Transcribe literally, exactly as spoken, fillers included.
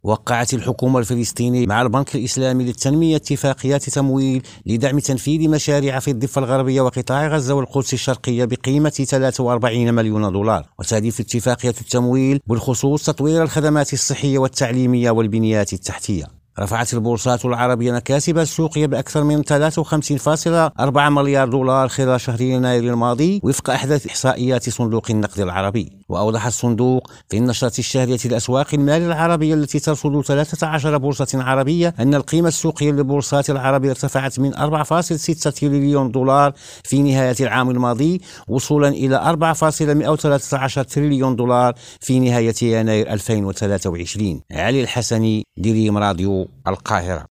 وقعت الحكومة الفلسطينية مع البنك الإسلامي للتنمية اتفاقيات تمويل لدعم تنفيذ مشاريع في الضفة الغربية وقطاع غزة والقدس الشرقية بقيمة ثلاثة وأربعين مليون دولار. وتهدف اتفاقية التمويل بالخصوص تطوير الخدمات الصحية والتعليمية والبنيات التحتية. رفعت البورصات العربية مكاسبها السوقية بأكثر من ثلاثة وخمسين فاصلة أربعة مليار دولار خلال شهر يناير الماضي وفق أحدث إحصائيات صندوق النقد العربي. وأوضح الصندوق في النشرة الشهرية لأسواق المال العربية التي ترصد ثلاثة عشر بورصة عربية أن القيمة السوقية للبورصات العربية ارتفعت من أربعة فاصلة ستة تريليون دولار في نهاية العام الماضي وصولا إلى أربعة فاصلة مئة وثلاثة عشر تريليون دولار في نهاية يناير ألفين وثلاثة وعشرين. علي الحسني، دريم راديو، القاهرة.